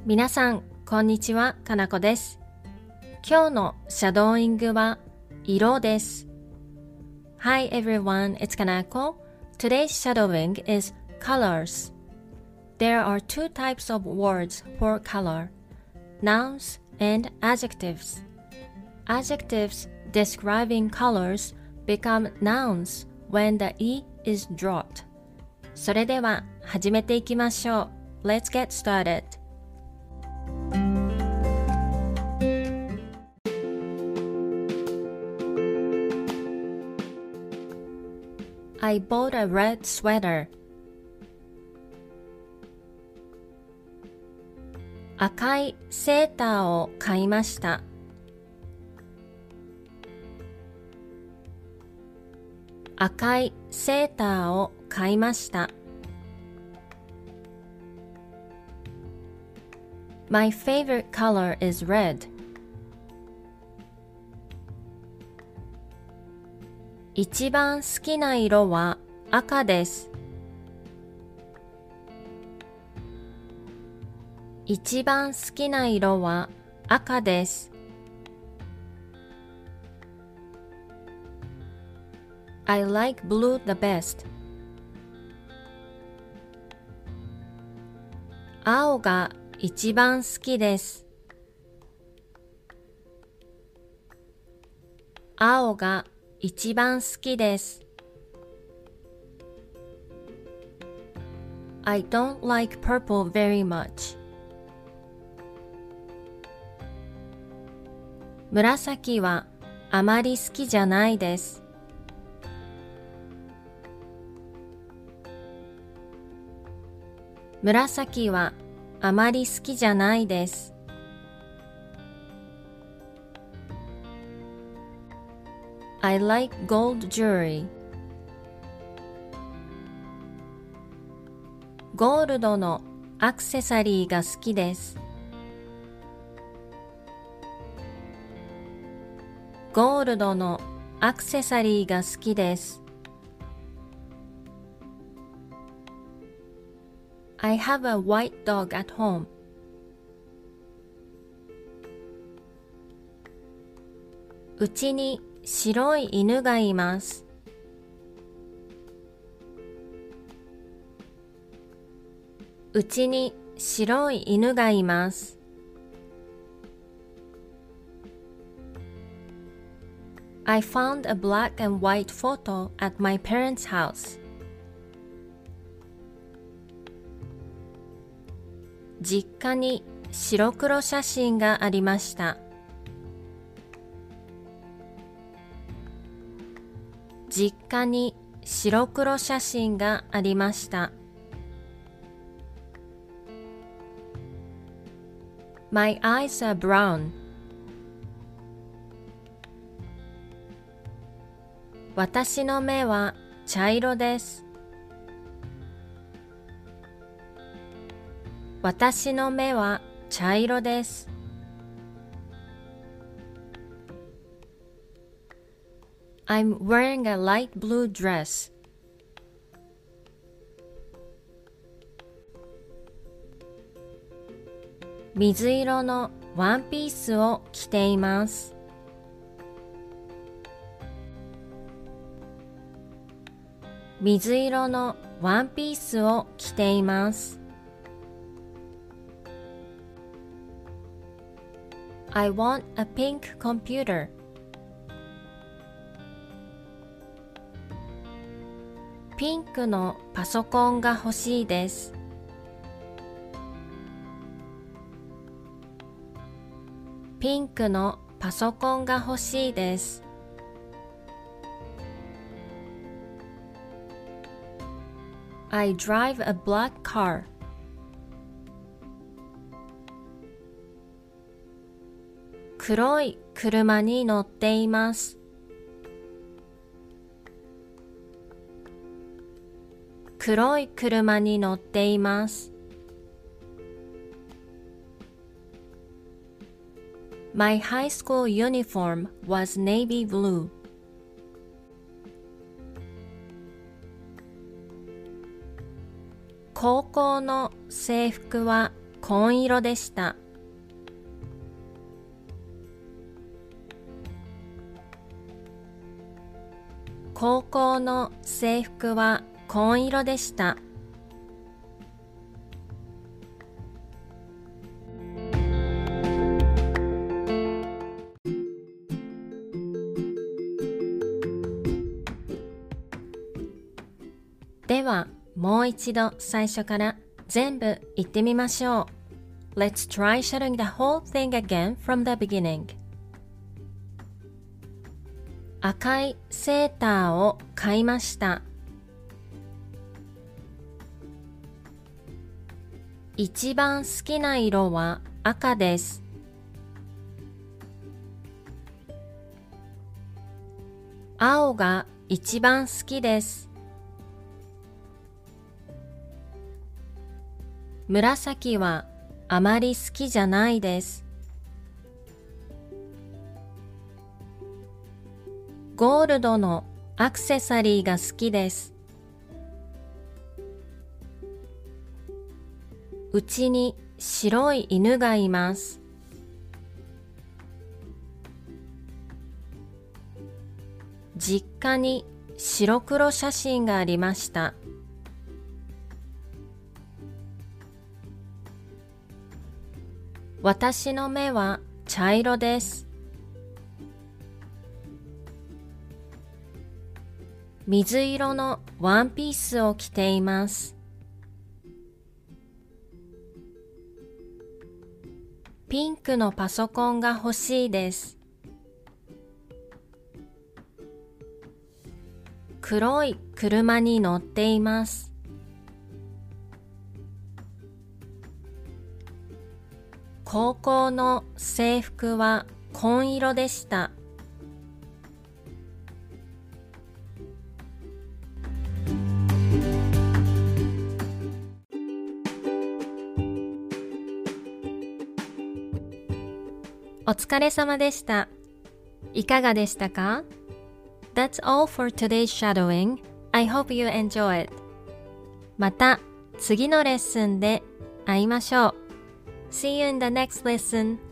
皆さん、こんにちは、かなこです。今日のシャドーイングは色です。Hi everyone, it's Kanako. Today's shadowing is colors. There are two types of words for color, nouns and adjectives. Adjectives describing colors become nouns when the E is dropped. それでは始めていきましょう。Let's get started. I bought a red sweater. 赤いセーターを買いました。赤いセーターを買いました。My favorite color is red. 一番好きな色は赤です。一番好きな色は赤です。I like blue the best. 青が一番好きです。青が一番好きです。I don't like purple very much. 紫はあまり好きじゃないです。紫はあまり好きじゃないです。I like gold jewelry. ゴールドのアクセサリーが好きです。ゴールドのアクセサリーが好きです。I have a white dog at home. うちに白い犬がいます。うちに白い犬がいます。I found a black and white photo at my parents' house. 実家に白黒写真がありました。実家に白黒写真がありました。My eyes are brown. 私の目は茶色です。私の目は茶色です。I'm wearing a light blue dress. 水色のワンピースを着ています。水色のワンピースを着ています。I want a pink computer. ピンクのパソコンが欲しいです。ピンクのパソコンが欲しいです。I drive a black car. 黒い車に乗っています。黒い車に乗っています。My high school uniform was navy blue. 高校の制服は紺色でした。高校の制服は紺色でした。では、もう一度最初から全部言ってみましょう。Let's try shadowing the whole thing again from the beginning. 赤いセーターを買いました。一番好きな色は赤です。青が一番好きです。紫はあまり好きじゃないです。ゴールドのアクセサリーが好きです。うちに白い犬がいます。実家に白黒写真がありました。私の目は茶色です。水色のワンピースを着ています。ピンクのパソコンが欲しいです。黒い車に乗っています。高校の制服は紺色でした。お疲れ様でした。いかがでしたか？ That's all for today's shadowing. I hope you enjoy it. また次のレッスンで会いましょう。See you in the next lesson.